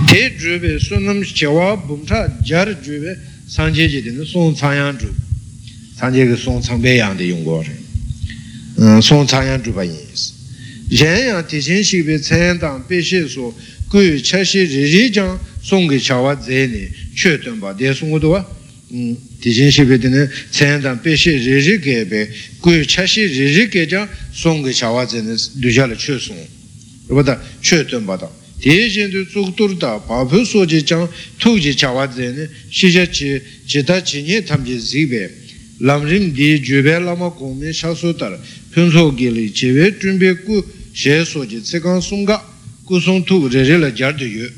Te Jube Sunam Chewa Bumta Jar Jube Sanjeji in the Song Tsayan Ju. Sanjay Song Tsangbeyan the Yungor. Song Tsayan Juba is. Yen teaching she be sent on Bishi so good Chashi Rijang Song Chawa Zeni, Chutumba, de Sungudua. Teaching she be the sent on Bishi Rijigebe, good Chashi Rijigeja, Song Chawa Zenis, Dujala Chusung. What a Chutumba. Teaching to Zuturda, Papu Soji Chang, Tuji Chawa Zeni, Shijachi, Chitachi Tamji Zibe. Lamrim di Jube Lama Kome Shasutar, Punso Gili, Chive, Jumbe Ku, She Soji, Sekan Sunga, Kusung Tu, Rela Jardu.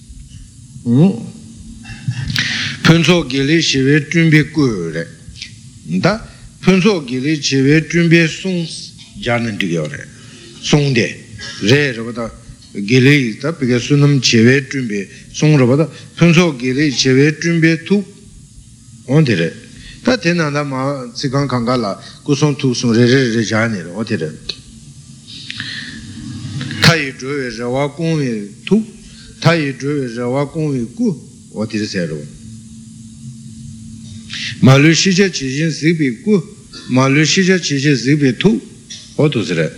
Punso Gili, Chive, Jumbe Ku, Da, Punso Gili, Chive, Jumbe Sons, Janan Diore, Sonde, Re Rabata, Gili, because Sunam Chive, Jumbe, Song Rabata, Punso Gili, Chive, Jumbe Tu, on the Tatena ma Sikan Kangala, Kuson tu son Rejani, what it is. Tai Drew is a Wakumi tu, Tai Drew is a Wakumi ku, what is it? Malushija Chijin Zibi ku, Malushija Chijin Zibi tu, what was it?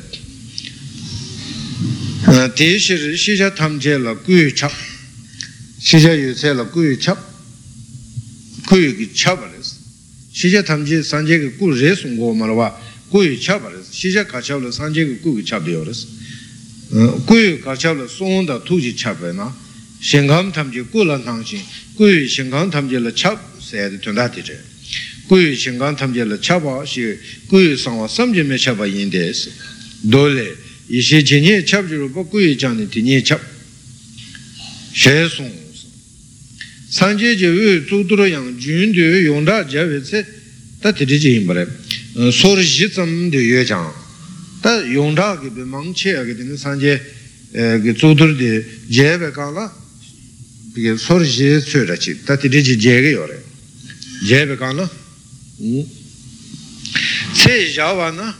Tish Shija Tamjela Gui Chap, Shija Yusela Gui Chap, Gui Chabalis. Shija Tamji Sanjay Ku Resung Marwa, Gui Chabaris, Shija Kachavla Sanjay Ku Chabioris, Gui Kachavla Sonda Tuji Chabena, Shengam Tamji Kulan Tangshin, Gui Shengam Tamji La Chab, said Tundatije. Gui Shengam Tamji La Chaba, she Gui Sama Samji Mechaba in this. Dole, Ishi Chini Chabjuru, Gui Jani Tini Chab. Shesung. Sanjay Jew, Tudroyang, Jun de Yonda Javitse, that did it in Breb. Sorjitsam de Yajang. That Yonda give the Mangche getting Sanjay Tudur de Jebekala, because Sorji Surachi, that did it Jagore. Jebekala Say Javana,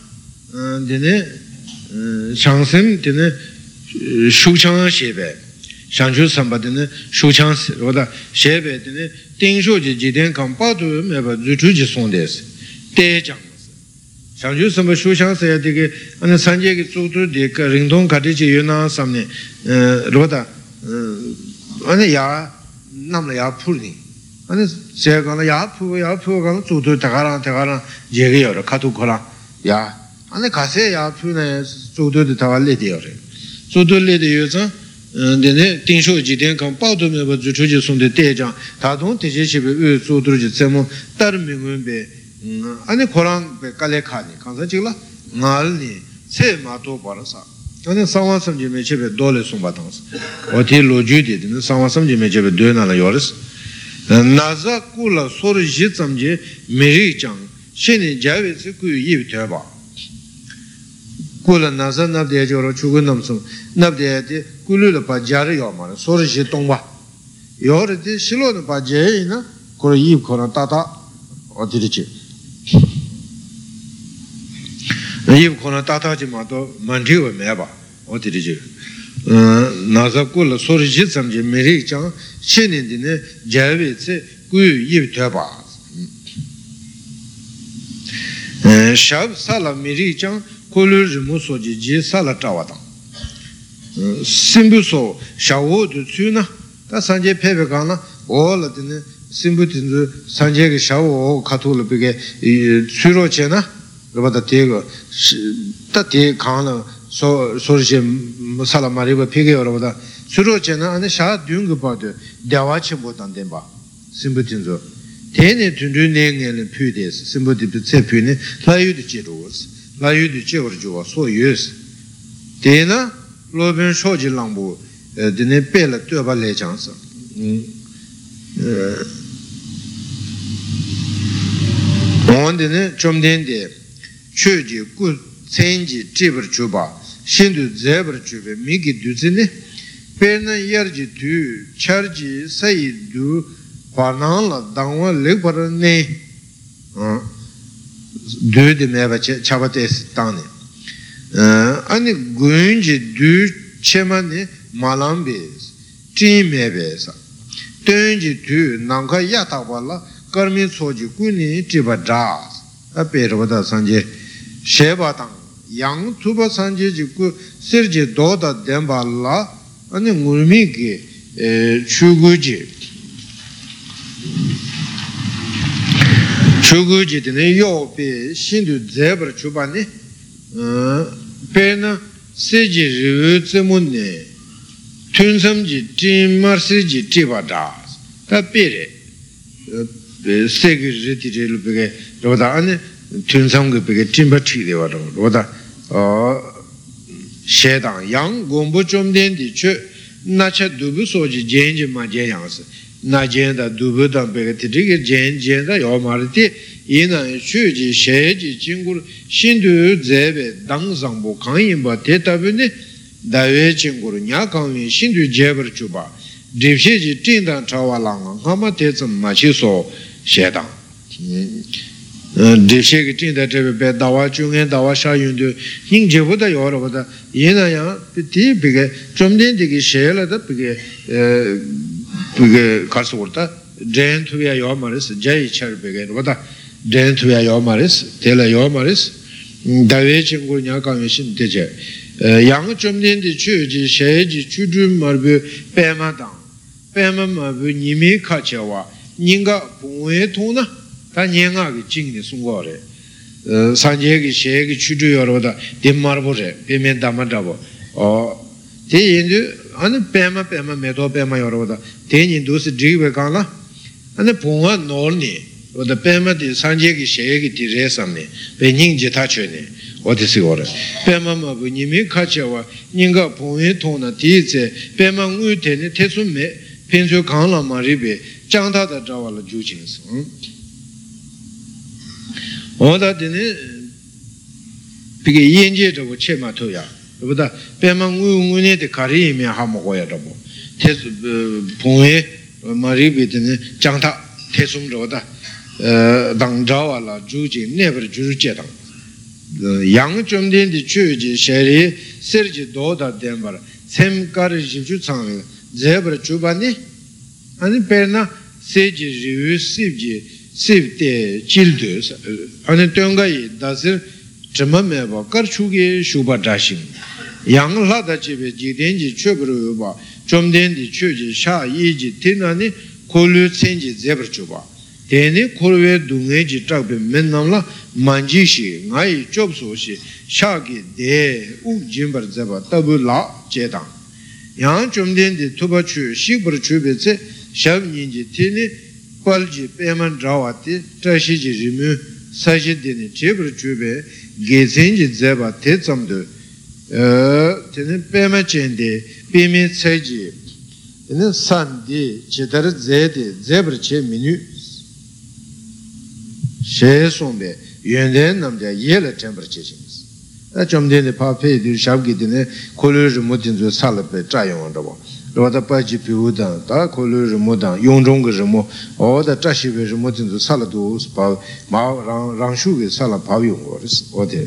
Dine Shangsim, Dine Shuchang Shebe. Shanju Sambadine, Shuchans, or the Shebe, Tingshu, Jiden Kampatu, Meba, Zutuji Sondes, Tejang. Shanju Samba Shuchans, and the Sanjay Sutu, the Ringdon Kadiji Yuna Samne, Roda, and the Ya, Namla Puli, and the Segana Yapu, Sutu, Tagara, Jegi or Katukola, Ya, and the Kase Yapuna, Sutu the Tavalidi. Sutu Lady User. Tingshu Jiden come out of me, Juju son the Tejang, Tadon Tishi, Sutuji Semo, Tarmingumbe, and the Koran Kalekani, Kansachilla, Nalni, Semato Barasa. And then someone some Jimmy Dole Sumbatans, or Tilo Judy, and someone some Jimmy Duena Yoris. Naza Kula Sori Jitsamje, Miri Chang, Shini Javits, Yiv Turba. Kula Naza Nabde or Chugunamsum, Nabde. Kulu Pajari Yomar, Sorishi Tongba. Yority Shilo Pajana, Kori Konatata, or Tirichi. Yiv Konatata Jimato, Manju Meba, or Tirichi. Nazakula Sorishi Samji Miri Chang, Shinin Dine, Javitse, Gu Yiv Taba. Shab Sala Miri Chang, Kulu Rimusoji, Sala Tawata. Simbuso, Shawo to Tuna, that's Sanjay Pepegana, all of the Simbutin, Sanjay Shawo, Katula Bige, Surochena, about the Tego, Tati Kana, Sorjim, Salamariba Piggy or over the Surochena and the Shah doing about the Dawachi Botandemba, Simbutinzo. Tene to do Ning and Pudes, Simbuti Sepune, Layu the Jeros, Layu the Jeorjo, so use. Tena. Loben Shoji Lambu, the Nepela Tuba Legends. On the Chomdende, Chuji, good Senji, Jibber Chuba, Shindu Zebra Chube, Miki Duzine, Perna Yerji Tu, Charji, Saidu, Panala, Dangwa, Leparane, Do the Meva Chabates Tani. Ani Gunji do Chemani Malambes, Timebesa. Tunji tu Nanka Yatawala, Karmi Soji Kuni Tiba Jas. A Perovada Sanje, Shebatang, Yang Tuba Sanje Jiku, Sergi Doda Dembala, and the Murmiki Chuguji. Chuguji dine yopi shindu zebra chubani pena seji rivu tsemune tunsamji timarsi tiba das ta pere segi riti rilu peke roda ane tunsamgi peke timba chide wada roda shedang yang gombo chomden di che nacha dubu soji jenji ma jenyangsi na jenda dubu dan peke titiki jenda yomariti ina chuji sheji jingur shindu zebe dang zangbo kanyinba te tabine dawe jingur nyakangwi shindu jebar chuba dripsheji tingdan chawa langa kama te tsam machi so shedang dripshegi tingdan chebe pe dawa chungen dawa sha yundu ning jebu da yoro bada ina yang ti peke chomden diki shela da peke karsu urta jen tuya yomaris jai char peke bada jen tuya yomaris tela yomaris dawe chingur nyakangwi shin teche yang chomden di chuji sheji chudu marbu pema dang pema marbu nimi kachewa nyinga pungwe tona ta nyenga ki jingni sungwa re sanje ki she ki chudu yorwada di marbu re peme dama dabo te yindu ane pema meto pema yorwada te yindu si jigwe kaala ane pungwa norni wada pema di sanje ki she ki di re samne pe nying jita che ne wadi si gore pema mabu nimi kachewa nyinga pungwe tona ti ze pema ngui teni te su me pensu kaala ma ribe jangta da jawa la ju ching si oda dine pige yenje zhabu che ma to ya rubuda pema ngui ne de kari ime ha mo goya zhabu te pungwe ma ribe dine jangta te sum zhabu dang jawa la ju ching nebar ju che dang yang chomden di chu ji sheri ser ji do da denbar sem kar ji chu chang zebar chu ba ni ani perna se ji ri sip ji sip de jil de ani tonga yi da sir chma me ba kar chu ge shu ba da shin yang la da ji be ji den ji chu bru ba chomden di chu ji sha yi ji tin ani ko lu chen ji zebar chu ba teni korwe dunghe ji chakpe men namla manji shi ngayi chob so shi shaki de uk jimbar zeba tabu la che tang yang chomden di tuba chu shikbar chu be tse shab nyingi teni pal ji peman drawa ti trashi ji rimu sashi dini chebar chu be ge sen ji zeba te tsamdo teni pema chen de pemi tsai ji teni san di chetar ze de zebar che minu she sombe yunden namja yela temper chechins a chomden de pa pe du shabgi dine kolur mutin zo salape chayong dabo roda pa ji piu da ta kolur mudan yongjong ge mo o da chashi be mutin zo saladu pa ma rang shu ge sala pa yong ores o de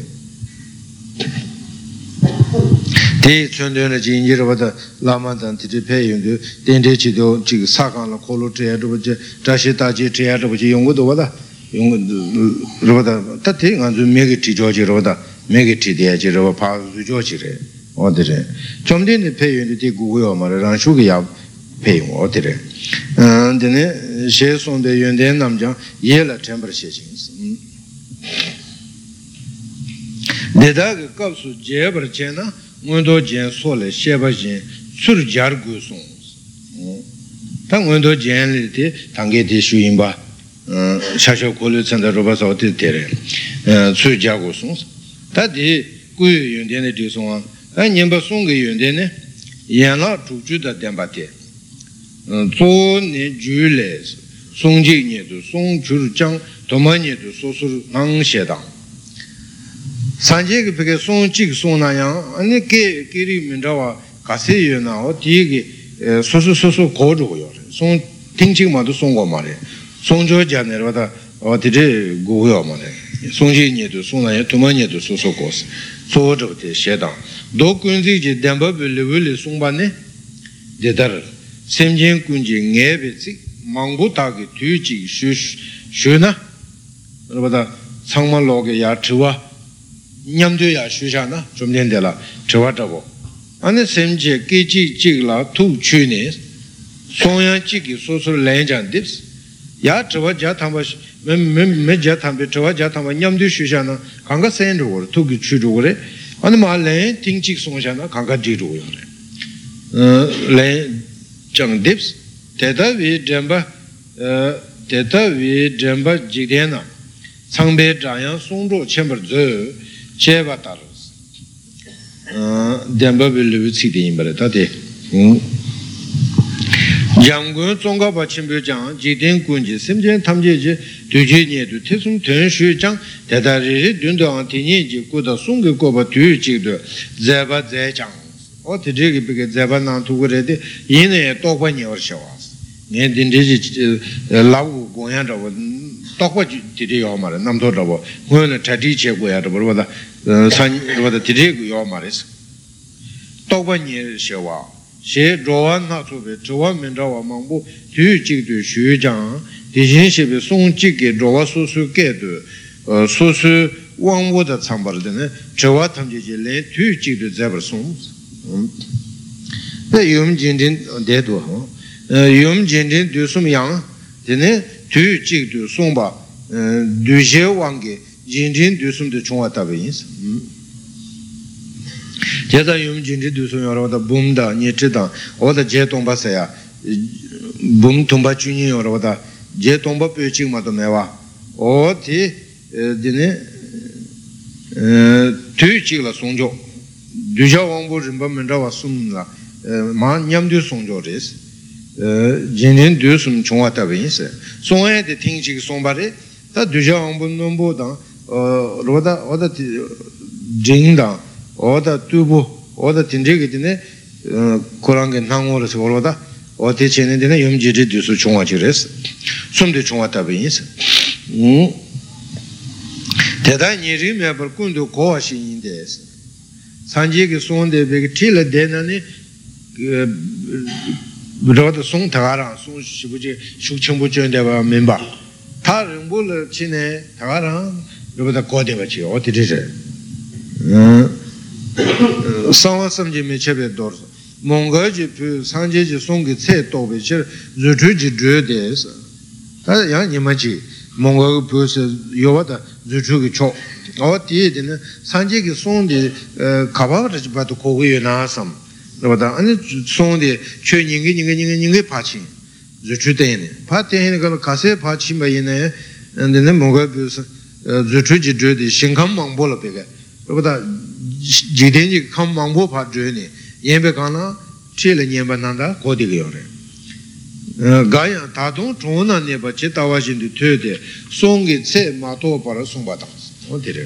te chondön de jinji roda lama dan ti pe yong de den de chi do ji sa gang la kolur che do je chashi ta ji che do ji yong do da yung roda tate nganzu megi ti joji roda megi ti dia ji roba pa zu joji re odire chomden de pe yun de gu yo ma ran shu ge ya pe yun odire dene she son de yun de nam jang ye la temper she jing de da ge kap su je bar che na ngon do jen so le she ba jin sur jar gu song ta ngon do jen le de tang ge de shu yin ba 샤쇼 콜을 찬다 로바서 어디 되래 수자고 송 다디 구유 연대네 뒤송아 아 님바 송게 연대네 연라 주주다 덴바테 조네 주레스 송지니도 송주장 도마니도 소술 낭셰당 산제게 베게 송직 송나양 아니 게 끼리 민자와 가세요나 어디게 소소소소 고르고요 송 팅칭마도 송고 말해 송조자 내려다 어디를 고요 말해 송지니도 송나야 도마니도 소소고스 소저때 셰당 도군지지 덴바블레블레 송반네 데다르 semjen kunji ngebe tsik mangbu taki tuji shu na rupata tsangma loge ya chiwa nyamdo ya shu sha na chumden de la chiwa chabo ane semje keji jigla tu chu ne songyang jigi sosu lenjang dips ya chiwa jatamba me jatamba chiwa jatamba nyamdo shu sha na kanga sen ruwa tuki chu ruwa ane ma len ting jik song sha na kanga jik ruwa len jang dips teta vi drenpa jikdena tsangpe zhanyang songzho chenpar zo cheba taras drenpa vi lupi tsikde yinpare tate jamgun tsongkapa chenpyo jang jikden kunji semjen tamje je duje nye du tesum ten shu jang teta riri dundu ang tinye je kuda songke kopa tuyu jikdo zeba zay jang o te zhegi peke zeba nang tuku re de yinne tokpa nye war shawas nye dinti lagu gongyan zhabo tokpa tiri yaw mara namto zhabo gongyan chati che goya zhabo rupata tiri yaw mara isi tokpa nye shawa she zhowa na sobe zhowa men zhawa mangbo tuyu jikdo shu jang di shin shebe song jikge zhowa susu ge du susu wangwo da tsangbar dine zhowa tamje je len tuyu jikdo zebar song yum jindin dedu yum jindin du sum yang dine tu jik du sumba du je wangi jindin du sum de chungwa tabi ins jeda yum jindin du sum yoro da bum da nye chidang oda je tongba saya bum tongba chunyi yoro da je tongba pyo chik ma to mewa o ti dine tu jik la songjo du ja wangbo rinpa mendra wa sum la ma nyam du songjo res jindin du sum chungwa tabi ins songye de ting chik songba re ta du ja wangbo nombo dang roda oda jing dang oda tubu oda tinjegi dine korange nangwo res roda oda chene dine yom jiri du su chungwa chik res sum de chungwa tabi ins teta nyeri mebar kundu kowa shi yin des sanjiki sonde begi tila denani rāda sōng thāgārāṅ sōng shibuji shuk chenpo chōndeba mīmbā tā rīṅbō lā chīne thāgārāṅ rūpa kōdeba chī o tiri rī sāngvā samjī mē chepe dōr mōngā jī pū sāngjī jī sōng kī tsē tōbi chī rūchū jī dhū dēs tā yā nima chī mōngā pū sī yōwa tā rūchū kī chō o tī dī nā sāngjī kī sōng dī kāpā rā chī pātū kōgu yu nā sāṁ rāba āni sōng dī chū nyingi pāchī rūchū tēni pā tēni kāla kāsē pāchī mā yinā dī nā mōngā pū sī rūchū jī dhū dī shīngkāṁ māngbō lā pēkā rāba jīdēn jī kāṁ māngbō pā dhū nī yēn bē kāna chī lā nyēn bā nāndā kōdī kā yō rē gāyā tātōng chōng nā nē bā chē tāwā shīn dī tū dē sōng kī tsē mā tō pā rā sōng bā tāng o tī rē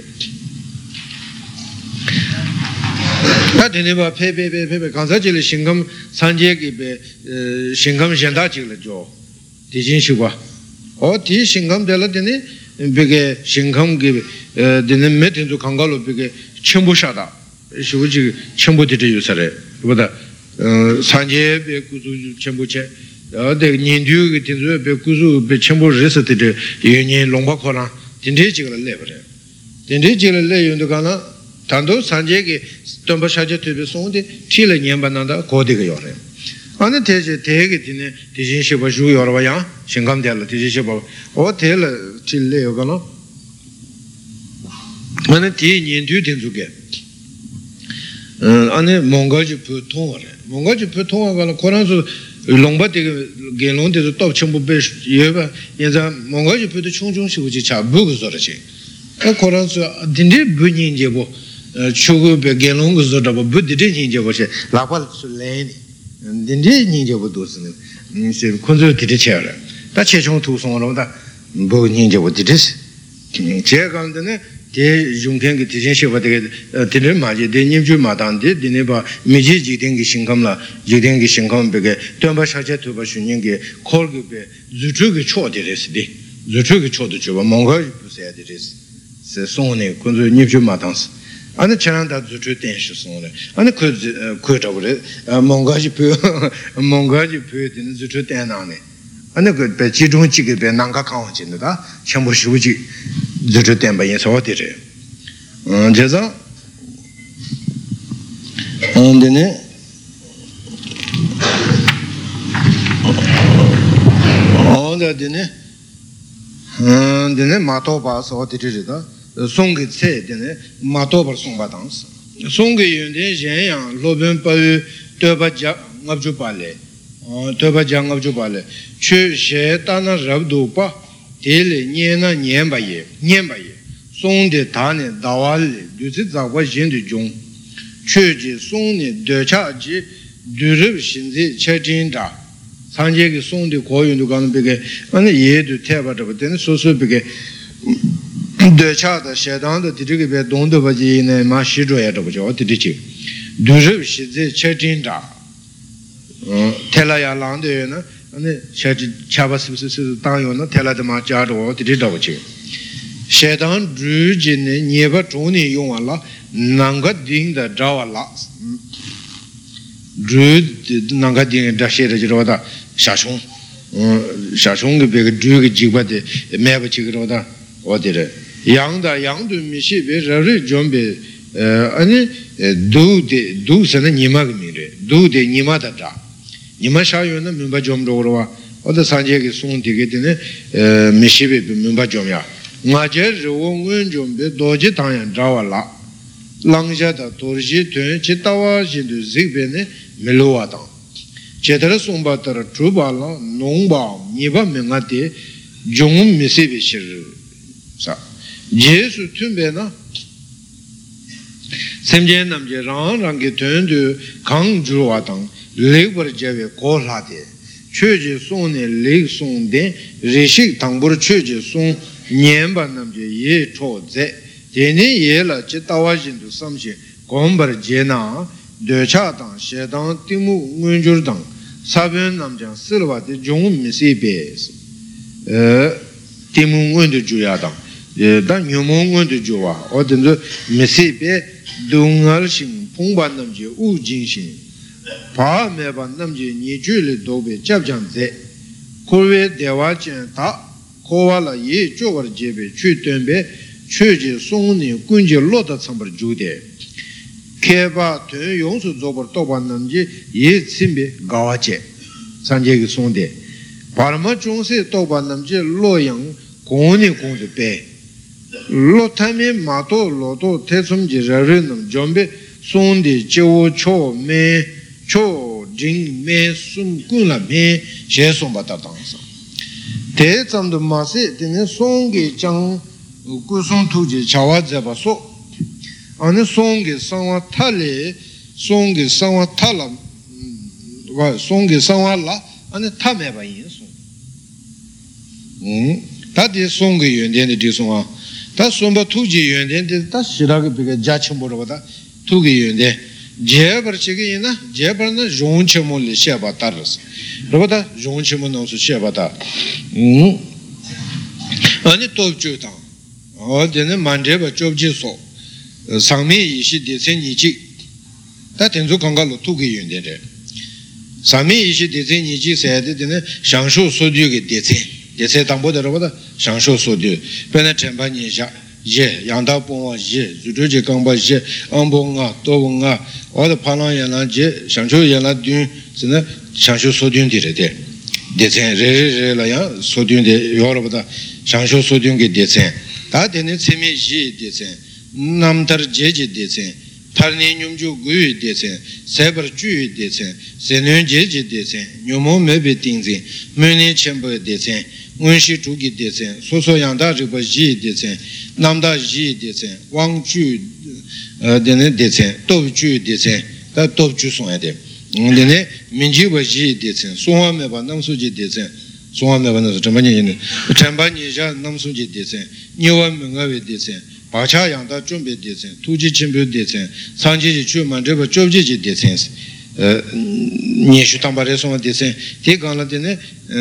tā tēne bā pē kānsā chī lā shīngkāṁ sāñjē kī bē shīngkāṁ shendā chī lā jō tī jīn shī bā o tī shīngkāṁ tē lā tēne bē kē shīngkāṁ kī tēne mē tēn sū kāngā lō bē kē chēmbū shā tā shī wū chī chēmbū tī tī yu sā rē bā tā sāñjē bē kū sū chēmbū chē de nian du ge tin zu be gu zu be chen bo re se de ye nian long ba kho la tin de ji ge le ba re tin de ji le yun de ga na dan do san je ge don ba sha je de be song de ti le nian ba na da go de ge yo re ane te je de ge tin ne de jin shi ba ju yo ba yang xin gam de le de ji shi ba o de le ti le yo ga na ane ti nian du tin zu ge ane mong ga ji pu tong re mong ga ji pu tong ga na ko ran zu longpa tiga genlong tiga top chenpo pe yueba yanza monga ji pe tu chung chung shivu chi cha bu gu zora chi koran su dindi bu nyin je bo chugu pe genlong gu zora bo bu dindi nyin je bo chi lakpa su leni dindi nyin je bo do si kunzu didi che ra ta che chung tu song ra ta bu nyin je bo didi si che kan dine de yungken ki tijin shiva de dine ma je de nimju ma dan de dine ba mi ji ji den ki shingkam la ji den ki shingkam be ge tön ba sha che tu ba shun yin ge kol ge be zu chu ge cho de res de zu chu ge cho de ju ba mong ge bu se de res se song ne kun zu nimju ma dan ane chananda zuchu tenshi songre, ane ku chabure, mongaji pyo dine zuchu tenane, ane ku pe chi chung chi ki pe nanga kangwa chinde da, chenpo shivu chi zuchu tenpa yin sawa dire. Jeza, dine, dine mato pa sawa dire da, songge tse dine mato par songpa tangsa. Songge yunde yen yang loben pa yu toba ja ngabju pale, chu she tana rabdu pa, tele nyena nyenpa ye, songde tane dawa le, duzi zakwa jindu jung, chu ji songne docha ji durib shinzi che jinda, sanje ki songde ko yundu gana bige, ane ye du teba dhaba dine so bige, döcha shedan da dirige be dongdo baji ne ma shi zhuo ya zhe bu dirige du zhe shi zhe che jin da tela ya lang de ne ne che cha ba si dang yo ne tela de ma jia zhuo dirige zhe bu ji shedan zhu jin ne nie ba zhong ni yong la nang ga ding da zhao la zhu nang ga ding da she de zhe da sha chong ge be ge zhu ge ji ba de me ba ji ge da o de 양다 양도 미시베 저리 좀베 아니 두세는 니마가 미래 두데 니마다다 니마샤요는 민바 좀 로로와 어디 산지에게 송되게 되네 미시베 민바 좀야 나제 저원은 좀베 도지 당연 자와라 랑자다 도르지 된 지타와 진도 지베네 멜로와다 제대로 송바더라 주발라 농바 니바 명아데 종 미시베 시르사 예수 tumbe나 semje namje rang rang ge tön de kang juwa dang le bar jewe ko la de chöje song ne le song de rishik tang bur chöje song nyen ba namje ye cho ze de ne ye la che tawa jin du sam che gom bar je na de cha dang she dang ti mu ngun jur dang sa ben namjang silwa de jong mi se be ti mu ngun de ju ya dang 다 녀몽원도 좋아 어든지 메시베 동알신 봉반 남지 우진신 바메반 남지 니줄이 도베 잡장제 고외 대화전 다 고와라 예 쪼거 제베 취된베 취지 송니 군지 로다 참버 주데 개바 되 용수 조버 도반 남지 예 침베 가와제 산제기 송데 바르마 중세 도반 남지 로양 공니 공도 베 로타미 마토 로토 태숨지 저르는 좀베 손디 제오 초메 초징메 숨군라메 제송바다당사 대zam도 마세 되는 송게 장 구송 투지 자와자바소 아니 송게 상와 탈레 송게 상와 탈라 와 송게 상와라 아니 타메바 인송 다디 송게 연대의 디송아 다 손바 투지 연대인데 다 시라가 비가 자침보로보다 투기 연대 제버치기나 제버는 종치몰리 시아바 따르스 그러다 종치몰 넣어서 시아바다 아니 또주다 어디는 만제바 좁지소 상미 이시 대세니지 다 된조 강가로 투기 연대래 상미 이시 대세니지 세대는 상수 소주게 대세 대세 당보더라보다 상쇼 소디 변에 전반이자 예 양다 봉와 예 주주지 강바 예 안봉아 도봉아 어디 파나야나제 상쇼 야나든 진짜 상쇼 소디인데래 대세 레레라야 소디인데 여러보다 상쇼 소디인게 대세 다 되는 세미지 대세 남들 제제 대세 탈니 뇽주 구이 대세 세버 주이 대세 세는 제제 대세 뇽모 메베 띵지 메니 쳔버 대세 원시 주기 대세 소소양다 저거 지 대세 남다 지 대세 왕주 되는 대세 도주 대세 다 도주 송야 돼 근데 민지버 지 대세 송화메 봐 남수지 대세 송화메 봐는 전반이 전반이자 남수지 대세 니원 명가베 대세 바차양다 준비 대세 투지 준비 대세 상지지 주만 저거 좁지지 대세 니슈 담바레 송화 대세 대강라 되네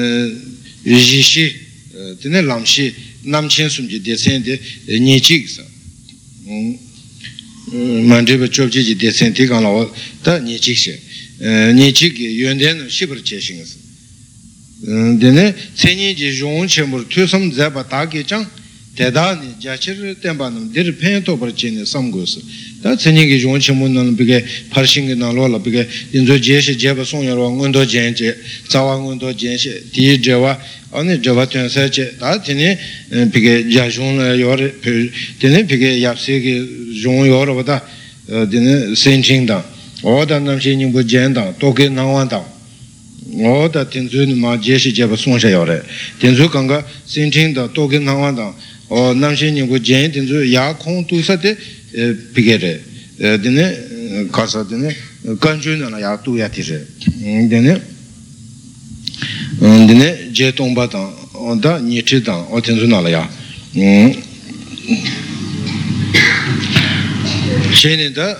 rishi tene lamshi namchen sumji desende nichiksa 만지베 좁지지 대센티가 나와다 니직시 니직이 연대는 시벌 제싱스 데네 세니지 용체물 투섬 잡아 다게장 대단히 자치를 땜바는 들 펜토 버치네 삼고스 다 세니기 용체물은 비게 파싱이 나로라 비게 인조 제시 제바 송여로 원도 젠제 자와 원도 젠시 디제와 아니 저와 텐세제 다 되네 비게 자존을 요르 되네 비게 yap세기 용요로보다 되네 센칭다 오다 남신이 부젠다 또게 나완다 오다 텐주는 마 제시 제바 송샤요레 텐주 강가 센칭다 또게 나완다 어 남신이 부젠 텐주 야콩 두사데 비게레 되네 가서 되네 간주는 야 두야티제 되네 되네 제동바당 온다 니치당 어텐주나라야 제네다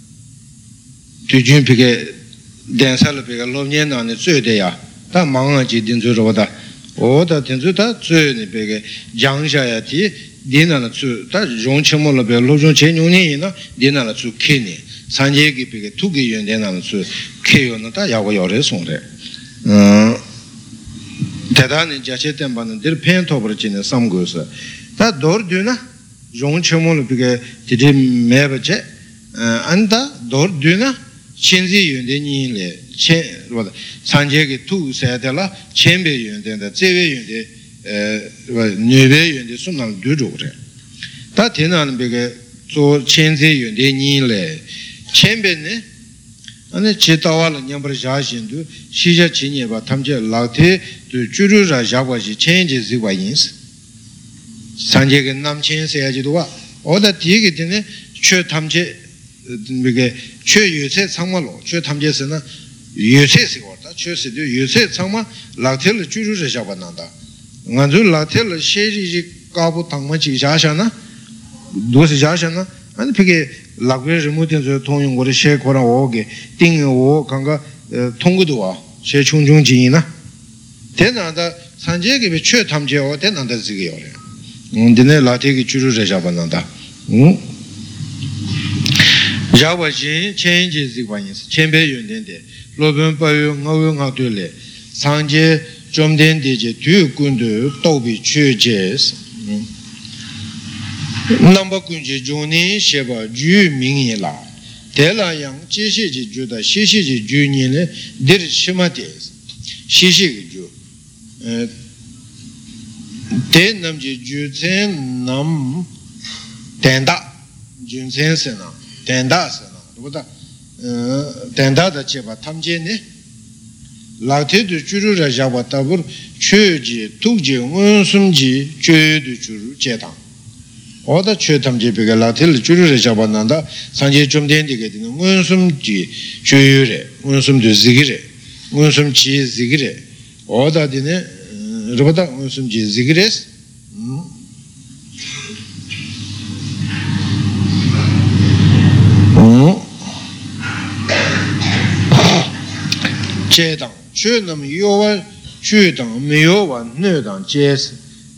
뒤준 비게 댄사를 비게 로년나네 쇠대야 다 망아지 딘주로다 오다 딘주다 쇠네 비게 장샤야티 디나나 쇠다 용치모로 비게 로종 제뇽니나 디나나 쇠 케니 산제기 비게 투기 연대나나 쇠 케요는 다 야고 요래 송래 대단히 자체된 바는 들 펜토버지는 삼고서 다 도르드나 용치모로 비게 디디 매버제 안다 도르드나 신지 연대니래 체 뭐다 산제기 투 세달라 첸베 연대다 제베 연대 뇌베 연대 순난 두조래 다 되나는 비게 조 첸지 연대니래 첸베네 아니 제다와를 냠버 자신도 시자 진예바 탐제 라테 주주라 자과시 첸지 지과인스 산제기 남첸세야지도와 오다 뒤게 되네 최 탐제 이게 최유세 상마로 최 탐제스는 유세시고다 최세도 유세 상마 라텔을 주주를 잡아난다 먼저 라텔을 셰리지 까부 당마지 자샤나 도시 자샤나 아니 그게 라그레 모든서 통용고를 셰코랑 오게 띵오 강가 통고도와 셰충중지이나 대나다 산제기 최 탐제와 대나다 지게요 근데 라테기 주주를 잡아난다 자와진 체인지 지관이스 첸베 윤된데 로변 바유 ngawang 되래 상제 좀 된데제 뒤군도 도비 취제스 넘버 군지 존이 셰바 주민이라 대라양 지시지 주다 시시지 주니네 들 심마데스 시시지 주 대남지 주센 남 된다 준센스나 된다스나 보다 된다다 제바 탐제네 라테도 주루라 잡았다불 최지 투지 원숨지 죄도 주루 제당 어다 최탐제 비가 라텔 주루라 잡았난다 산제 좀 된디게 되는 원숨지 죄유래 원숨도 지기래 원숨지 지기래 어다 되네 로다 원숨지 지기레스 제당 최남 요원 최당 메요원 뇌당 제스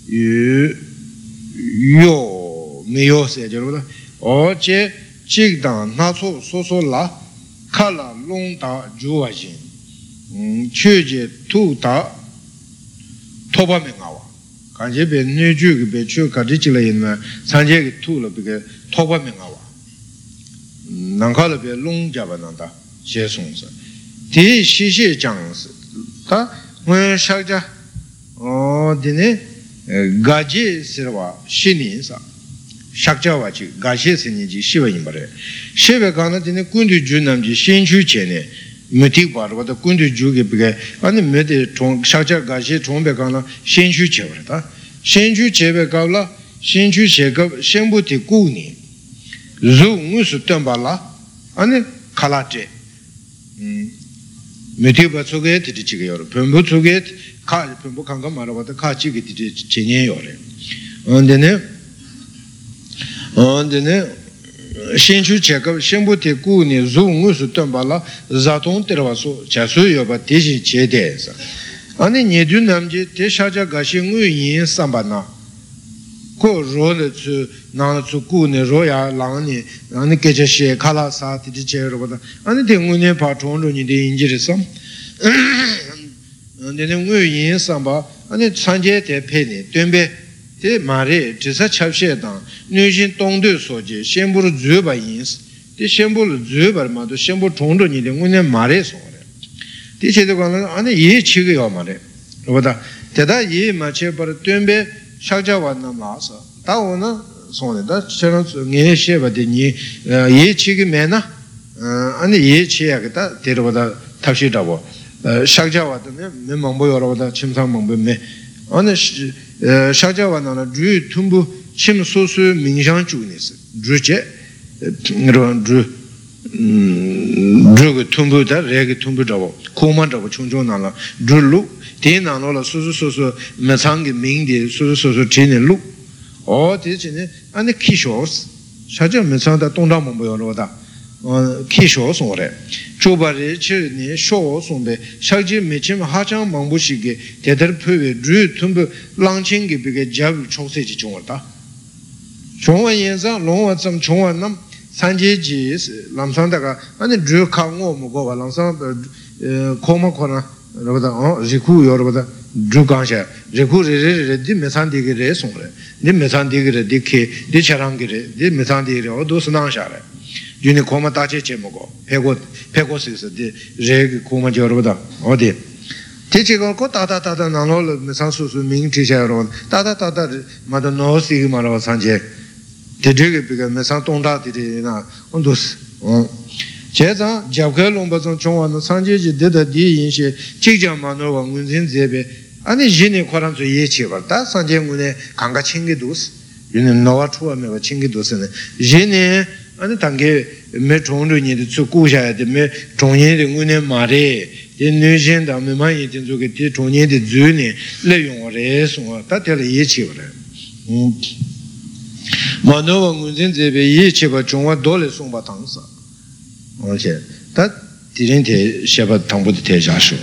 요 메요세 저러다 어제 직당 나소 소소라 칼라 롱다 주와진 최제 투다 토바명아와 간제베 뇌주게 베추 가지질라 있나 산제게 투로 비게 토바명아와 난칼베 롱자바난다 제송사 디 시시 장스 다 원샤자 디네 가지 스르와 신인사 샥자와지 가시 스니지 시바인 바레 시베 가나 디네 군두 주남지 신추 제네 메티 바르바다 군두 주게 비게 아니 메데 총 샥자 가시 총베 가나 신추 제버다 신추 제베 가라 신추 제가 신부티 꾸니 루 무스 덤발라 아니 칼라제 메티바 속에 드리지게요. 변부 속에 카 변부 강가 말아봐도 카치게 드리 제녀요래. 언데네 신추 제가 신부티 꾸니 루 덤발라 자동 들어와서 자수여바 대신 제대해서 아니 니준 남지 대샤자 가시 의인 삼바나 ko ro le tsu na tsu ku ne ro ya lang ni ani ke che she kala sa ti che ro ba ani de ngu ne pa chong ro ni de yin ji re sam ne ne ngu yin sam ba ani san je de pe ni duen be de ma re zhi sa chap she dang nu jin dong de so ji xian bu zu ba yin de xian bu zu ba ma do xian bu chong ro ni de ngu ne ma re so re de che de ga ani ye chi ge yo ma re ro ba da ye ma che ba duen be 샤자와 남라서 다오는 손에다 저런 녜셰 바디니 예치기 매나 아니 예치야겠다 데려보다 탑시다고 샤자와는 mem망보 여러보다 침상망보매 어느 샤자와는 주 tum부 침소수 민상 주니스 주제 이런 주 주그 tum부다 레게 tum부다고 고만다고 총종나라 줄루 대나노라 소소소소 매상기 민디 소소소소 진행루 어디지네 아니 키쇼스 사자 매상다 동담만 보여로다 키쇼스 오래 조바리 치니 쇼송데 샤지 매침 하장 망부시게 대들 표에 주 tum부 랑칭기 비게 잡 총세지 중었다 종원연상 롱원점 종원남 산제지 람상다가 아니 주 강고 뭐고 람상 코마코나 여러분들 리쿠 여러분들 주강샤 리쿠 레레레디 메산디게레 송레 니 메산디게레 디케 디차랑게레 디 메산디게레 어도스나샤레 주니 코마 다체체 뭐고 페고스에서 디 레게 코마 여러분들 어디 대체가 고 다다다다 나노 메산수수 민티샤 여러분 다다다다 마도 노시 마로 산제 대대게 비가 메산 동다디리나 온도스 제자 잡결롱바종 종원의 상제지 대다 디인시 직장만으로 문진제베 아니 진의 과람수 예치버다 상제문에 강가 챙기도스 얘는 너와 추하면 챙기도스네 진의 아니 단계 매 종류니도 주고셔야 되매 종인의 문에 말에 인류신다 매만이 된쪽에 디 종인의 주니 내용을 해서 다들 예치버래 만으로 문진제베 예치버 종와 돌에 송바 당사而且他敌人铁写把唐布的铁下手，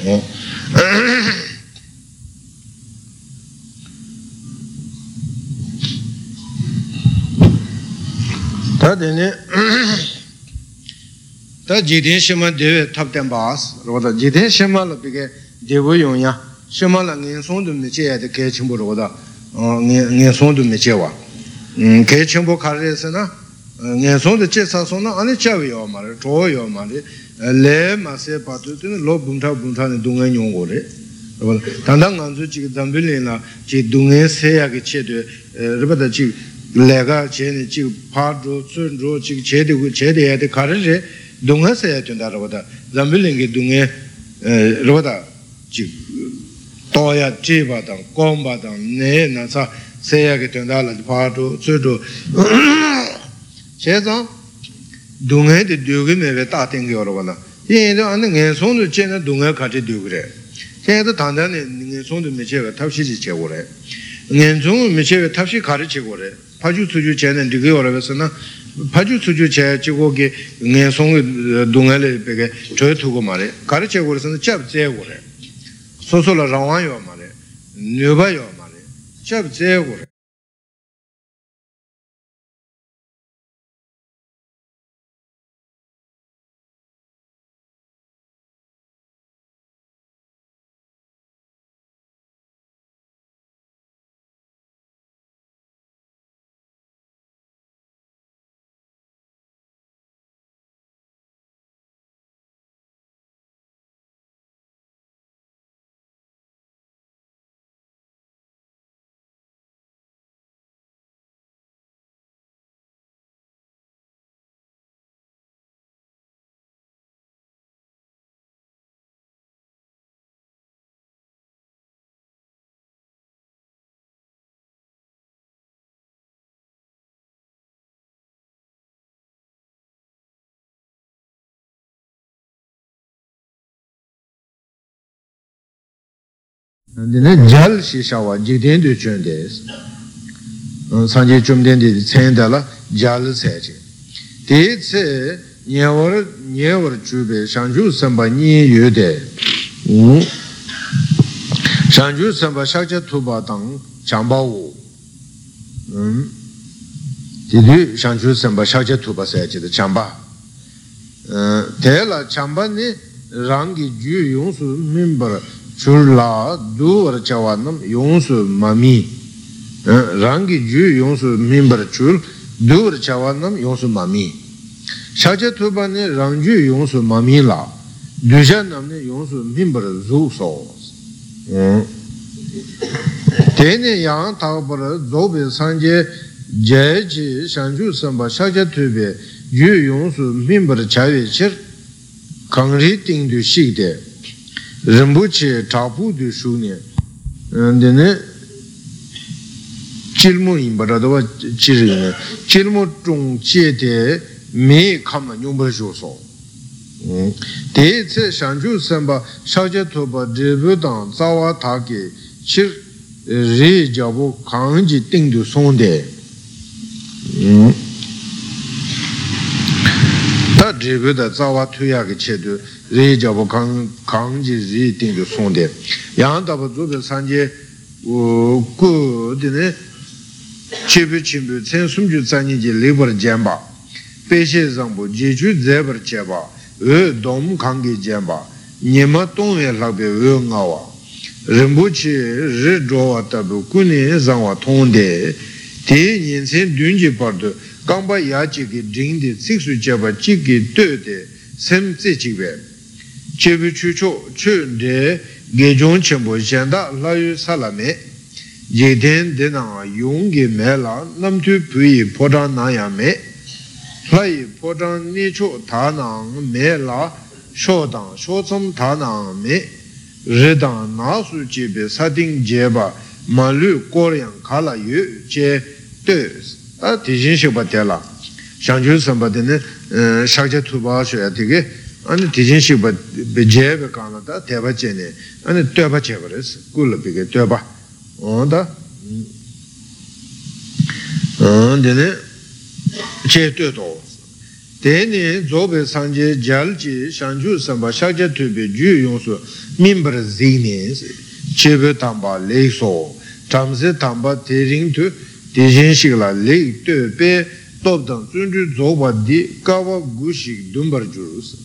他的呢，他几天什么的他点巴斯，我的几天什么了别个地位用呀，什么了人送都没接的该全部我的，人送都没接哇，该全部看的是呢。年松的介绍说那安尼教育要嘛的，教育要嘛的，来嘛些把这这老本土的东安用过的，是吧？当当俺做这个咱们人啦，这东安西亚个切的，是吧？的这来个切的这个爬着、顺着这个切的也得看着些东安西亚就那是吧的，咱们人个东安，是吧的，这刀呀、这把当、钢把当，那啥西亚个就那了，爬着、顺着。现在东岸的丢个没被打定掉了吧？那现在俺那眼松都见到东岸开始丢个嘞。现在谈谈的眼松都没接个，他是接过来，眼松没接个，他是开始接过来。他就出去见人这个了，是呢，他就出去接结果给眼松的东岸的那个这头个嘛嘞，开始接过来是接不接过来，说了让完要嘛嘞，牛排要嘛嘞，接不接过来。那jal是啥话？几天就转的，上节中间的参的了jal才去。第一次年尾准备上周300年有的，上周300上节土巴当强暴我， Tidu Shanchu Samba Shaja Tuba Sachi the Chamba. Tela Chamba ni Rangi Ju Yonsu member Churla Du or Chawanam Yonsu Mami. Rangi Ju Yonsu member Chul Du or Chawanam Yonsu Mami. Shaja Tuba ni Rangju Yonsu Mami La. Dujanam ni Yonsu member Zu Sauce. Tene Yang Taubara Zobe Sanje Jaji Shanju Samba Shaja Tube Yu Yonsu member Chavi Chir Kangri Ting du Shigde Rambuche Tapu du Shune and then Chilmu in Baradova Chirine Chilmu Trung Chiete Me Kama Number Joso. Te Shanju Samba Shaja Tuba Debutan Zawa Taki Chir Re Jabu Kanji Ting du Sonde. Ta dribu da zawa tuya ke chedu re jabu kanji ri ting du sonde yang tabu zube sanje ku dine chebu chimbu tsen sumju zanyi ji libar jenba peshe zangbu jeju zebar cheba dom kangi jenba nyema tongwe lakbe ngawa rinpoche ri jowa tabu kune zangwa tongde te nyensen dunji pardu Gamba Yachiki Ding the Sixu Java Chiki Tude Sem Zichiwe Chebu Chucho Chun de Gejon Chembo Janda Layu Salame Yeden Dena Yungi Mela Namtu Pui Podan Nayame Lai Podan Nicho Tanang Mela Shodan Shotsam Tanang Me Redan Nasu Jibe Sading Jeba Malu Korean Kala Yu Je Des Tijin Shibbatella Shanju Sambadine Shakja Tuba Shuyatike and Tijin Shibbat Bejeb Kanada Teba Jene and Tuba Cheveres Gula Big Tuba on the Dene Cheto Dene Zobe Sanje Jalji Shanju Samba Shakja Tubi Ju Yonsu Mimber Zines Chebe Tamba Leso Tamse Tamba Tering to Tijin Shigla Lake to Pe Top Down Sundu Zoba Di Kawa Gushik Dumbar Jurus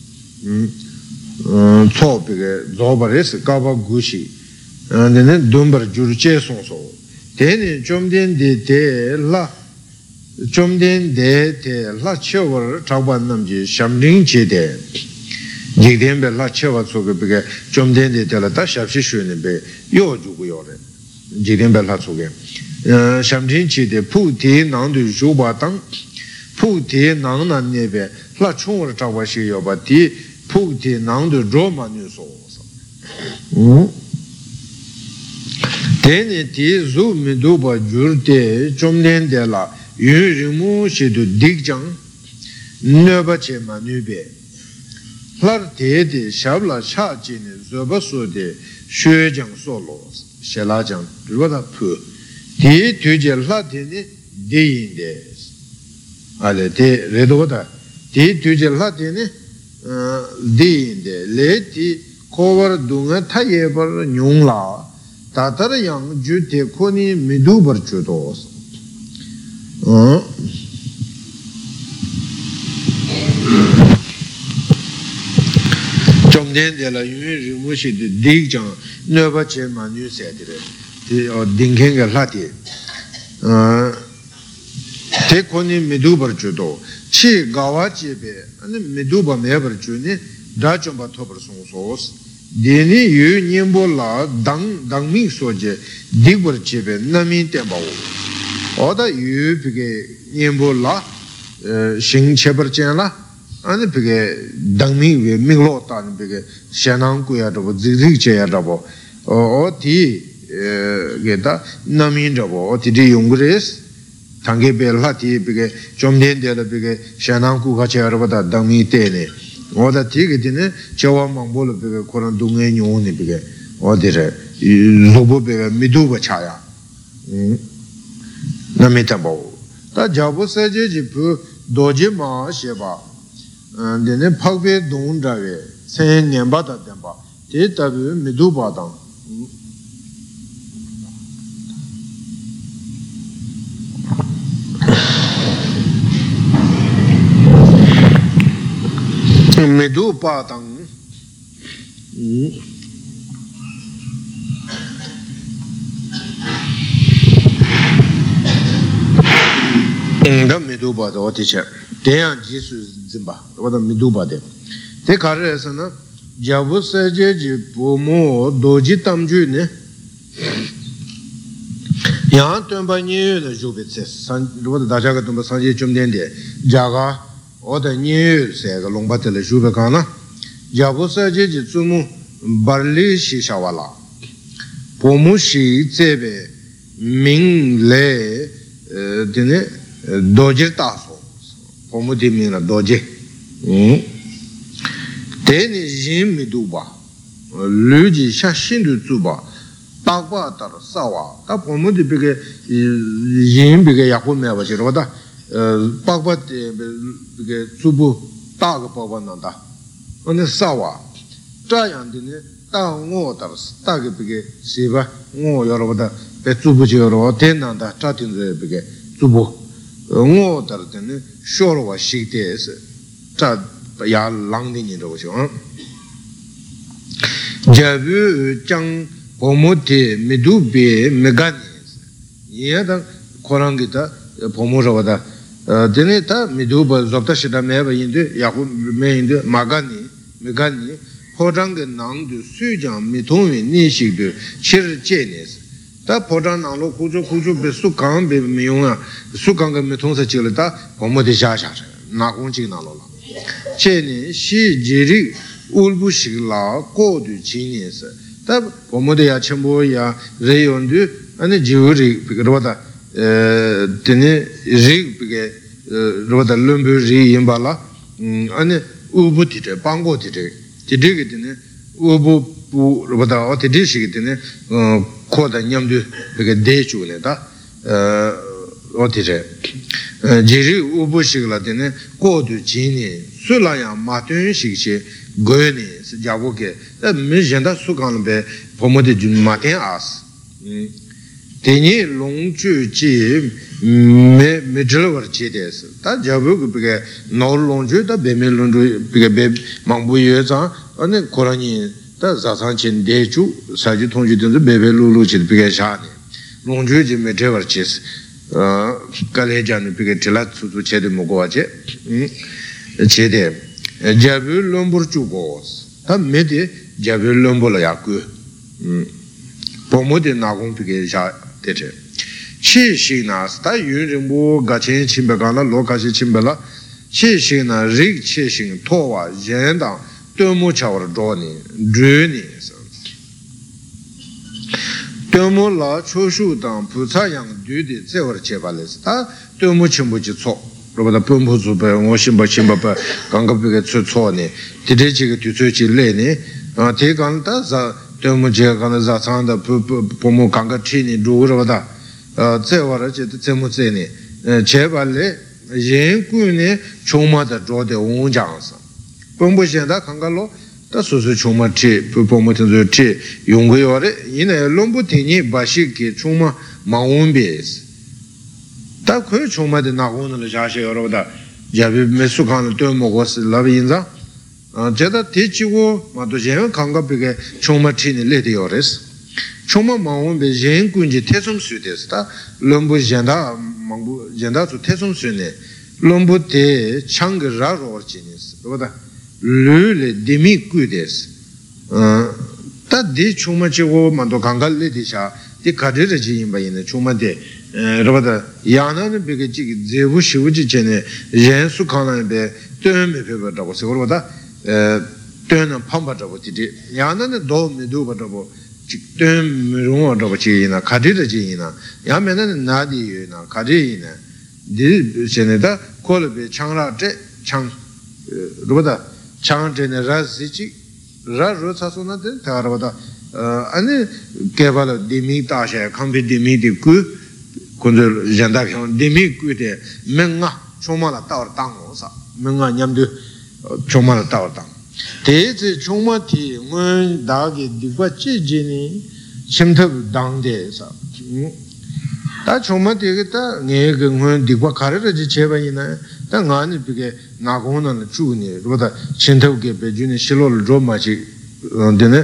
Topic Zobares Kawa Gushi and then Dumbar Jurche Sonso. Then Jomden de Te La Jomden de Te La Chever Chaban Namji Shamling Chede Jigden Be La Cheva Soga Bega Jomden de Telata Shapshi Shunebe Yo Juguyore Jigden Be La Soga. Shamjin chi de pu ti nang du zhu ba tang pu ti nang nan ne be la chung wa zha wa shi yo ba ti pu ti nang du zhu ma nu so teni ti zu mi du ba jur de zhom len de la yun ri mu shi du dik jang ne ba che ma nu be lar te de shab la sha ji ne zo ba so de xue jang so lo she la jang ru da pu Ti tuje latini deyin des. Ale te redoda. Ti tuje latini deyin de. Le ti kovar dunga tayebar nyungla. Tatar yang ju te koni midubar chudos. Chomden de la yun rimushi de dik jang nöba che ma nyu se dire. Dinkenga lati te koni midubar judo chi gawa jebe miduba mebar juni da chomba tobar song sos deni yu nyembo la dangming soje digbar jebe namin tenpa wo oda yu pige nyembo la shing chebar chen la ane pige dangming we minglo tan pige shenang kuya rabo zikzik che ya rabo o ti geta namin rabo otidi yungres tange bela ti bige chomden de la bige shanang ku ga che rabo da dami tene oda ti ge dine chawa mangbol bige koran dunge nyone bige odire lobo bige midu ba chaya namita bo ta jabo saje ji pu doje ma sheba dine phagbe dong jawe sen nyamba da demba te tabu midu ba dang Medu Patang da Medu Pata Oticha, Dean Jesus Zimba, what a Medu Pade. Take a resona, Javus Saji Pomo, Doji Tamjune. Yan Tumba New the Jubitses, what the Dajagatumba Sanji Chumdende, Jaga, or the new said along Battle Jubacana, Javusa Jitsumu, Barli Shishawala, Pomushi Zebe, Ming Le, Dine, Doji Taso, Pomudimina Doji. Teni Jim Miduba, Luji Shashindu Zuba. Tagba tar sawa, ta pomu di bige yin bige yakun me ba chiro da, tagba de bige zubu tag pa nanda, ane sawa, 这样的呢，当我tar tag bige siba, 我要了的被zubu就了，天南的这定的bige zubu，我tar的呢，说了我识的是，这也浪的你这个想，这不将。Pomote Medube Meganis. Yada Korangita, Pomoravada, Deneta, Meduba, Zoptashida Meva in the Yahoo Main Magani, Megani, Podang Nang, the Sujan, Mitumi, Nishik, Chir Chenis. That Podan Alo Kujo Kujo Besukan, Be Miona, Sukanga Metonsa Chilita, Pomote Shasha, Nakunchi Nalola. Cheni, she Jiri, Ulbushila, Go to Genius. 다 보모데야 첨보야 레온드 아니 지우리 비거다 드네 리 비게 로다 lumbu리 임발라 아니 우부티데 방고티데 디디게 드네 우부부 로다 어티디시게 드네 코다 냠드 비게 데주네다 어티제 지리 우부시글라 드네 고드 지니 술라야 마튼식시 goyoni se jabo ke me jenda sukan be pomode jun maten as teni longju ji me jlawar chi des ta jabo ke be no longju da be me longju be mangbu ye za ane korani ta za san chen de ju sa ji tong ju de be be lu lu chi be sha ni longju ji me jlawar chi ka le jan be tela su su che de mo go che che de Jabu Lombur Chugos, a mede Jabu Lombola Yaku, Pomode Nagum Pige Tete. Chi Shina, Sta Yurimbo, Gachin Chimbagana, Lokashi Chimbala, Chi Shina, Rig Chishin, Towa, Jenda, Tomo Chawar Doni, Druni. Tomo La Choshu Dang, Putayang, Dudi, Zevar Chevales, Tomo Chimbuchi Tso. 로바다 뿜부즈베 오심바 심바바 강갑비게 추초니 디디지게 뒤추지 레니 대간다 자 데모제 간다 자산다 포모 강가치니 루로바다 제와라제 제모제니 제발레 연구니 총마다 조데 온장서 뿜부신다 강갈로 다 소소 총마치 포모텐저치 용고요레 이네 롬부티니 바시게 총마 마운베스 다 그 총마데 나고는 자세 여러분다 야비 메수칸을 또 먹었을 라비인자 제가 대치고 마도 제가 강갑비게 총마치니 레디오레스 총마 마운베 젠군지 태송수됐다 롬부 젠다 망부 젠다 주 태송수네 롬부테 창그라로 지니스 그보다 르레 데미 꾸데스 다디 총마치고 마도 강갈레디샤 디 카드르지 임바이네 총마데 로바다 야나는 베게지 제부 시부지 전에 연수 칸나베 뜸에 베버다고 세고로다 뜸은 팜바다고 디디 야나는 도미도 바다고 직뜸 롱어다고 지이나 가디르지이나 야면은 나디이나 가디이나 디 전에다 콜베 창라데 창 로바다 창전에 라시지 라로사소나데 타라바다 아니 개발 디미 다샤 컴비 디미디 그 군들 전다형 데미꾸데 맹아 총마라 따워 땅오사 맹아 냠드 총마라 따워 땅 대제 총마티 문 다게 디과 찌지니 심탑 당대사 다 총마티게 다 내가 문 디과 가르르지 제바이나 ngani pige nagona la chuni roda chintau ge bejuni shilol roma chi dene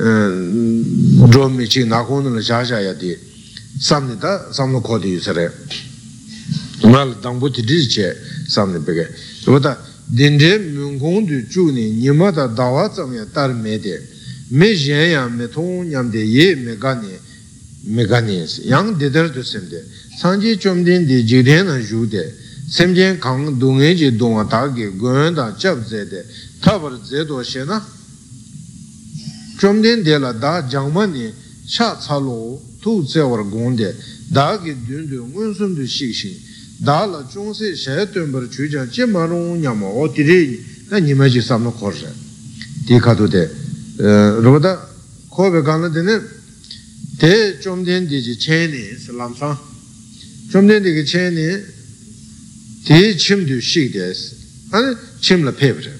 romi chi nagona la jaja ya di samni da samno khodi yusare mal dangbo ti che samni pige roda dinde mungong du chuni nima da dawa zamya tar me de me jen ya me thong nyam de ye me gani yang de der du semde sanji chomden de jiden na ju de semjen kang dungye ji dongwa da ge gwen da jab ze de tabar ze do she na chomden de la da jangma ni sha cha lo tu ze war gong de da ge dun de ngun sum de shi shi da la zhong se she dun bar chu ja je ma rong nyam o di ri na ni ma ji sam no khor se di ka do de ro da ko be gan de ne te chomden de ji chen ni lam sang chomden de ge chen ni 디 침도 식데스 아니 침라 페브레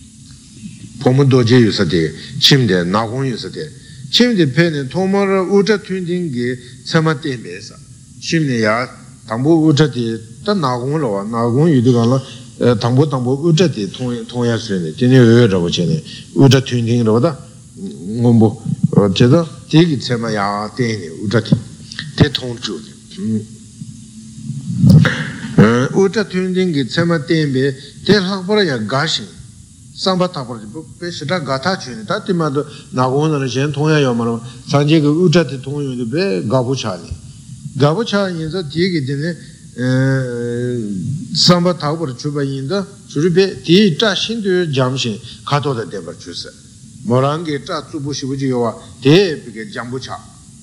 포문도제 유서데 침데 나공 유서데 침데 페는 토마르 우자 튠딩게 참아데메사 침네야 당보 우자데 다 나공로 나공 유디가라 당보 우자데 통야스네 되네 여러분 전에 우자 튠딩로다 뭐 제가 되게 참아야 되네 우자데 대통주네 우자 튠딩기 tsema tembe te lakpara ya gashin samba tapara pe shita gata chuni ta timado nagona na shen tongya yomara sanje ke uja te tongyo de be gabu chani gabu chani yinza digi dine samba tapara chuba yinza churi be di cha shindu jamshin kato da debar chuse morangi cha tsubu shibuji yowa de peke jambu cha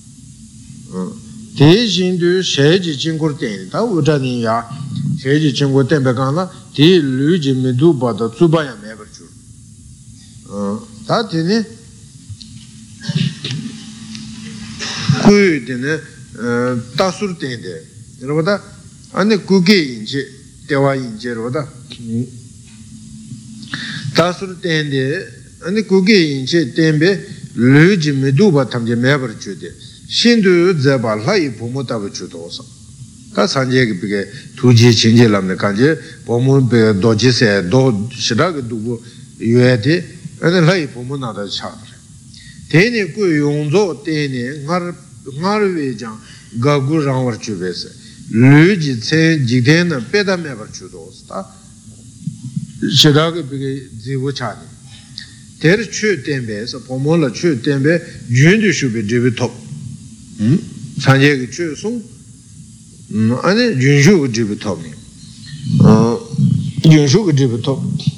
de shindu sheji jingur teni ta uja ni ya sheji chingu tenpe kaana di lu ji mi du pa da tsuba ya me bar chur ta tini kuyu tini tasur tende rabada ane kuke inche dewa inche rabada tasur tende ane kuke inche tenpe lu ji mi du pa tamje me bar chur de shindu zeba lai pumu tabi chur dosa 다 산제게 비게 두지 진제람네 간제 보문 배 도지세 도 시라게 두고 유에데 아니 라이 보문나다 차르 대니 그 용조 대니 나르웨장 가구랑 버추베스 르지 체 지데나 페다메 버추도스타 시라게 비게 지부차니 대르 추 덴베서 보문라 추 덴베 윤두 슈베 데비톱 산제게 추송 아니 윤슈 지부톱니 윤슈 지부톱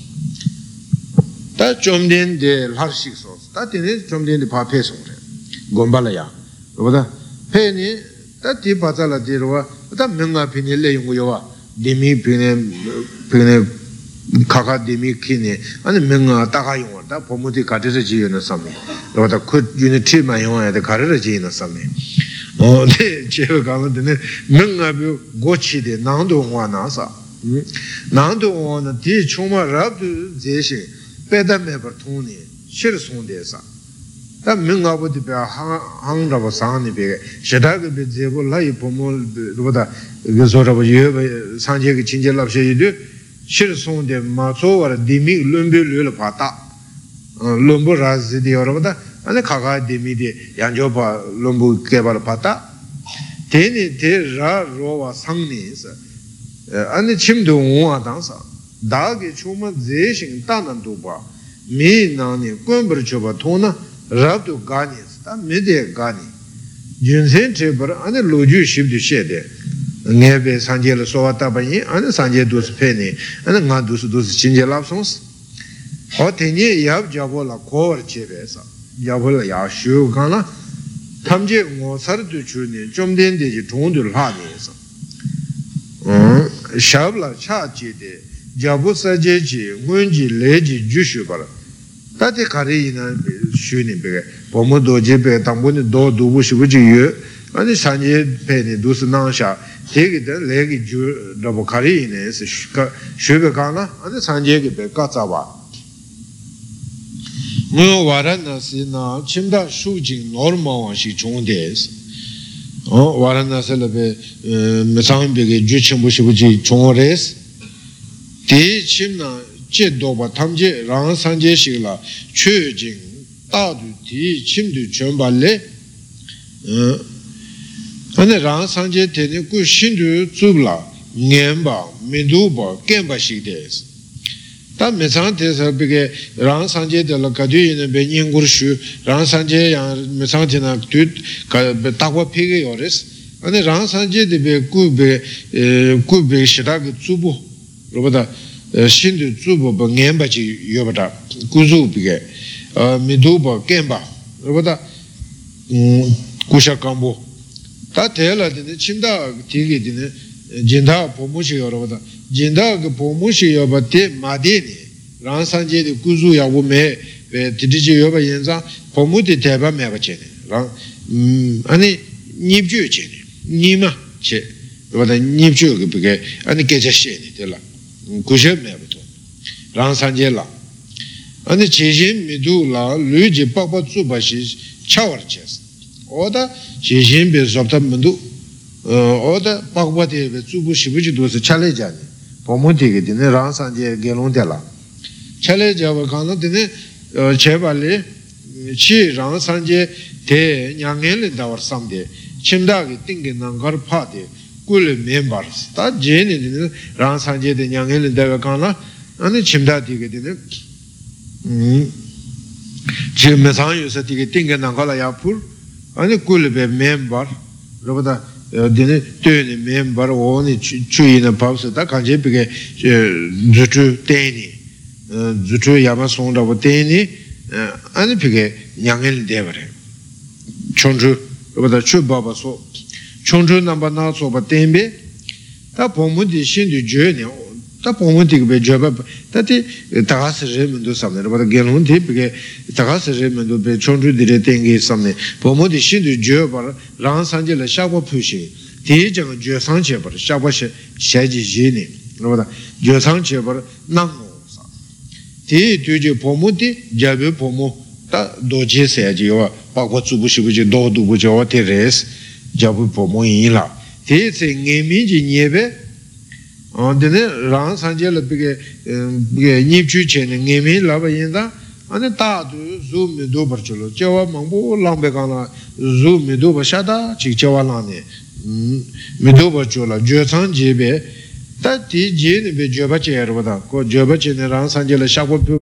다 좀된데 할식소 다 되네 좀된데 파페송래 곰발라야 보다 페니 다 디바자라 디로와 다 명가 피니 레용고요와 디미 피네 카가 디미 키네 아니 명가 다가용와 다 보모디 가르쳐 지요는 삼네 보다 그 유니티만 용어야 돼 가르쳐 지는 삼네 네, 제가 가는데 능아비 고치데 난도와나사 난도와나 디 초마랍도 제시 빼다메버 통니 실송데사 다 능아보디 배 항라고 상니 배 셔다게 배 제보 라이 보몰 보다 그소라고 예 상제게 진절랍셔이도 실송데 마소와 디미 lumbil을 봤다 lum보라즈디 여러분다 아니 가가 데미디 양조바 롬부 개발 봤다 데니 데라 로와 상니스 아니 침도 오와 당사 다게 초마 제신 따난도 봐 미나니 꼰버 줘봐 토나 라도 가니스 다 메데 가니 준센 제버 아니 로주 십도 셰데 네베 산제를 소왔다 바니 아니 산제 두스 페니 아니 나 두스 진제랍송스 어테니 얍 잡고라 코어 제베서 야벌 야슈 가나 탐제 모사르도 주니 좀 된데지 종들 하니서 샤블라 차지데 자부사제지 문지 레지 주슈바라 다데 가리나 슈니 베 보모도제 베 당본이 도 두부시부지유 아니 산제 페니 두스나샤 되게데 레기 주 더보 가리네스 슈베 가나 아니 산제게 베 까자바 뭐 와라나시나 침다 수진 노르마와시 종데스 와라나셀레베 메상베게 주침부시부지 종어레스 Di chimna che doba tamje rang sanje shigla chö jing dadu di chimdu chönba le ane rang sanje teni ku shindu zubla ngenba minduba genba shigdes ta mesang tesa bige rang sanje de la kadu yin be nyingur shu rang sanje yang mesang tena tu takwa pege yores ane rang sanje de be ku be shidag zubu 로보다 신도 주보버 냠바지 요바다 구주비게 미도버 겜바 로보다 구샤kam보 다 대라데 침다 디게디네 진다 보무시 여러보다 진다 그 보무시 요바데 마데니 란산제데 구주야 오메 디디지 요바 연자 보무데 대바 메바체네 랑 아니 닙주체네 니마 체 로보다 닙주 그게 아니 계자시네 될라 구셔매부터 랑산제라 아니 제신 미두라 류지 빠빠 주바시 차워체스 오다 제신 베섭다 문두 오다 빠빠데 주부시부지도서 차례자니 보모되게 되네 랑산제 개론되라 차례자와 간도되네 제발리 치 랑산제 대 냥엘을 다워 삼데 침다게 띵게 난가르 파데 꿀 멤버스 다 제네는 랑산제데 냥엘을 다가 간나 아니 침다디게 되네 지금 매상유서 되게 띵게 난가라 야풀 아니 꿀베 멤버 로보다 되네 되네 멤버 오니 추이나 밥스다 간제비게 주주 데니 주주 야마송다고 데니 아니 비게 냥엘 데버레 총주 로보다 추바바소 총주 남바나 소바 템베 다 보문디 신디 죄네 다 보문디 그 죄바 다티 다가스르면도 삼네 로보다 게론티 비게 다가스르면도 베 총주디레 땡게 삼네 보문디 신디 죄바 랑산제라 샤고 푸시 대정 죄상제바 샤바시 샤지 지네 로보다 죄상제바 나고사 대 뒤제 보문디 자베 보모 다 도제세지와 바고 주부시부지 도두부죠 테레스 자부 보모이라 대세 녜미지 녜베 언데네 랑 산제를 비게 비게 닙주체는 녜미 라바인다 아니 다도 줌도 버줄로 저와 망보 랑베가나 줌도 버샤다 직저와나네 미도 버줄라 죄상제베 다디 제네 베 죄바체여보다 고 죄바체네 랑 산제를 샤고